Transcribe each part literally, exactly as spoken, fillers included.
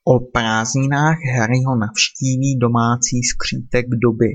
O prázdninách Harryho navštíví domácí skřítek doby.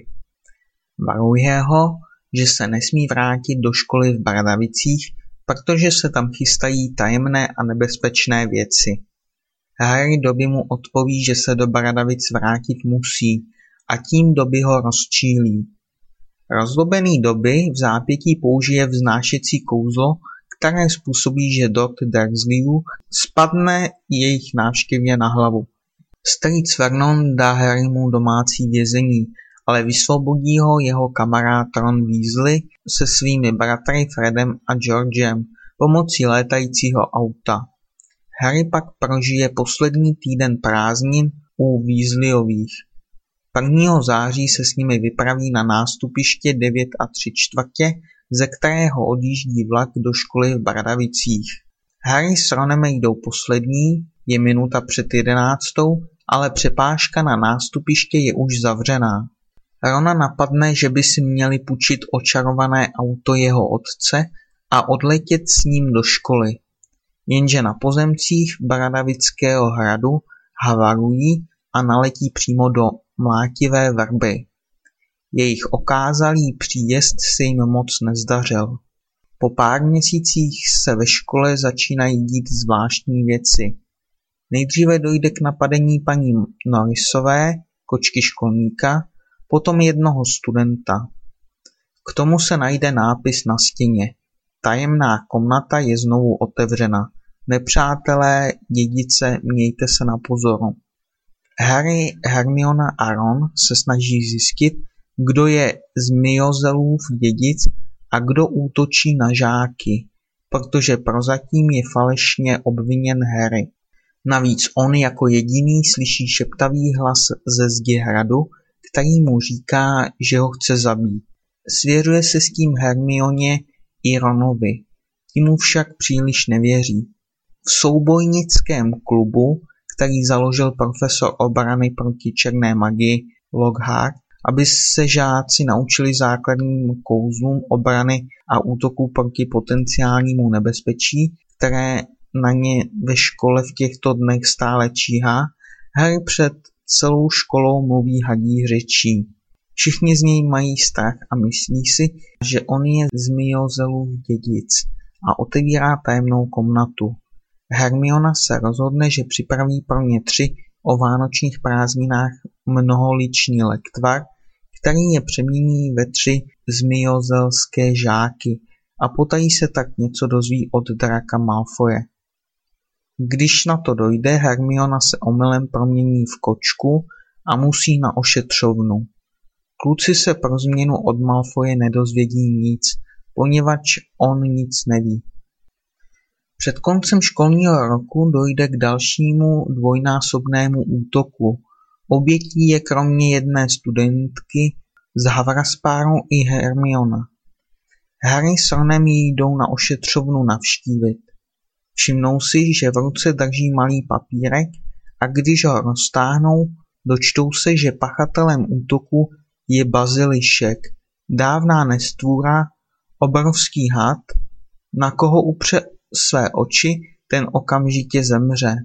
Varuje ho, že se nesmí vrátit do školy v Bradavicích, protože se tam chystají tajemné a nebezpečné věci. Harry Dobby mu odpoví, že se do Bradavic vrátit musí a tím Dobby ho rozčílí. Rozlobený Dobby v zápětí použije vznášecí kouzlo, které způsobí, že Dort Dursleyů spadne jejich návštěvě na hlavu. Strýc Vernon dá Harrymu domácí vězení, ale vysvobodí ho jeho kamarád Ron Weasley se svými bratry Fredem a Georgem pomocí létajícího auta. Harry pak prožije poslední týden prázdnin u Weasleyových. prvního září se s nimi vypraví na nástupiště devět a tři čtvrtě, ze kterého odjíždí vlak do školy v Bradavicích. Harry s Ronem jdou poslední, je minuta před jedenáctou, ale přepážka na nástupiště je už zavřená. Rona napadne, že by si měli půjčit očarované auto jeho otce a odletět s ním do školy. Jenže na pozemcích Bradavického hradu havarují a naletí přímo do mlátivé vrby. Jejich okázalý příjezd se jim moc nezdařil. Po pár měsících se ve škole začínají dít zvláštní věci. Nejdříve dojde k napadení paní Norrisové, kočky školníka, potom jednoho studenta. K tomu se najde nápis na stěně. Tajemná komnata je znovu otevřena. Nepřátelé, dědice, mějte se na pozoru. Harry, Hermiona a Ron se snaží zjistit, kdo je z Myozelův dědic a kdo útočí na žáky, protože prozatím je falešně obviněn Harry. Navíc on jako jediný slyší šeptavý hlas ze zdi hradu, který mu říká, že ho chce zabít. Svěřuje se s tím Hermioně i Ronovi, ti mu však příliš nevěří. V soubojnickém klubu, který založil profesor obrany proti černé magii Lockhart, aby se žáci naučili základním kouzlům obrany a útoku proti potenciálnímu nebezpečí, které na ně ve škole v těchto dnech stále číhá, Harry před celou školou mluví hadí řečí. Všichni z něj mají strach a myslí si, že on je z Myozelův dědic a otevírá tajemnou komnatu. Hermiona se rozhodne, že připraví pro ně tři o vánočních prázdninách mnoholičný lektvar, který je přemění ve tři zmiozelské žáky a potají se tak něco dozví od Draka Malfoje. Když na to dojde, Hermiona se omylem promění v kočku a musí na ošetřovnu. Kluci se pro změnu od Malfoje nedozvědí nic, poněvadž on nic neví. Před koncem školního roku dojde k dalšímu dvojnásobnému útoku. Obětí je kromě jedné studentky z Havraspáru i Hermiona. Harry s Ronem jdou na ošetřovnu navštívit. Všimnou si, že v ruce drží malý papírek a když ho roztáhnou, dočtou se, že pachatelem útoku je bazilišek, dávná nestvůra, obrovský had, na koho upře své oči, ten okamžitě zemře.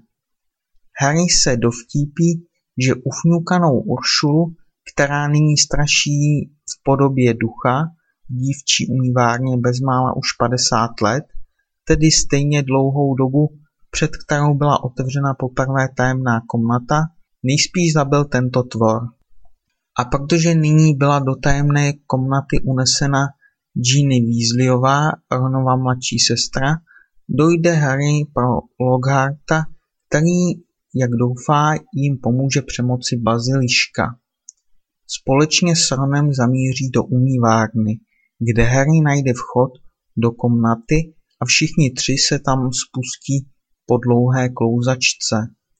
Harry se dovtípí, že ufňukanou Uršulu, která nyní straší v podobě ducha, v dívčí umývárně bezmála už padesát let, tedy stejně dlouhou dobu, před kterou byla otevřena poprvé tajemná komnata, nejspíš zabil tento tvor. A protože nyní byla do tajemné komnaty unesena Ginny Weasleyová, Ronova mladší sestra, dojde Harry pro Lockharta, který, jak doufá, jim pomůže přemoci baziliška. Společně s Ronem zamíří do umývárny, kde Harry najde vchod do komnaty a všichni tři se tam spustí po dlouhé klouzačce.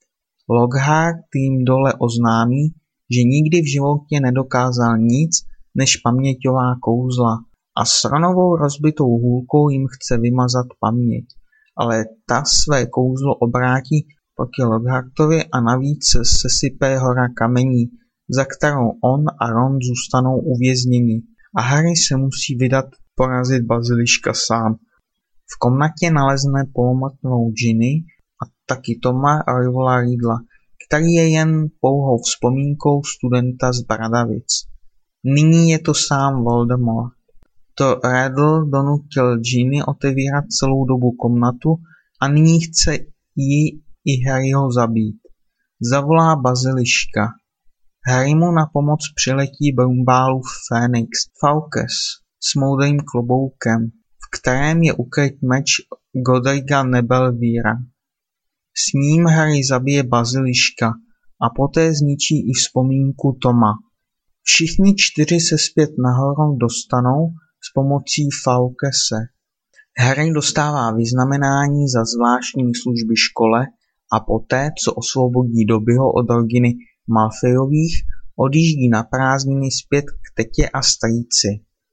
Lockhart jim dole oznámí, že nikdy v životě nedokázal nic než paměťová kouzla a s Ronovou rozbitou hůlkou jim chce vymazat paměť, ale ta své kouzlo obrátí proti Lockhartovi a navíc sesype hora kamení, za kterou on a Ron zůstanou uvězněni a Harry se musí vydat porazit baziliška sám. V komnatě nalezne polomrtvou Ginny a taky Toma a Rivola Riddla, který je jen pouhou vzpomínkou studenta z Bradavic. Nyní je to sám Voldemort. To Riddle donutil Ginny otevírat celou dobu komnatu a nyní chce ji i Harryho zabít. Zavolá baziliška. Harry mu na pomoc přiletí Brumbálův Fénix Fawkes s moudrým kloboukem, v kterém je ukryt meč Godriga Nebelvíra. S ním Harry zabije baziliška a poté zničí i vzpomínku Toma. Všichni čtyři se zpět nahoru dostanou s pomocí Fawkese. Harry dostává vyznamenání za zvláštní služby škole a poté, co osvobodí Dobbyho od rodiny Malfoyových, odjíždí na prázdniny zpět k tetě a strýci.